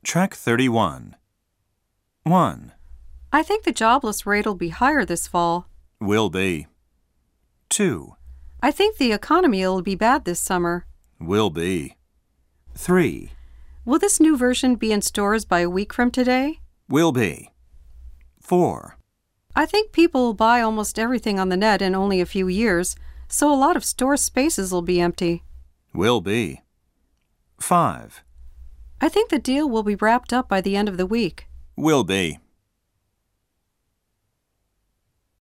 Track 31. 1. I think the jobless rate will be higher this fall. Will be. 2. I think the economy will be bad this summer. Will be. 3. Will this new version be in stores by a week from today? Will be. 4. I think people will buy almost everything on the net in only a few years, so a lot of store spaces will be empty. Will be. 5. I think the deal will be wrapped up by the end of the week. Will be.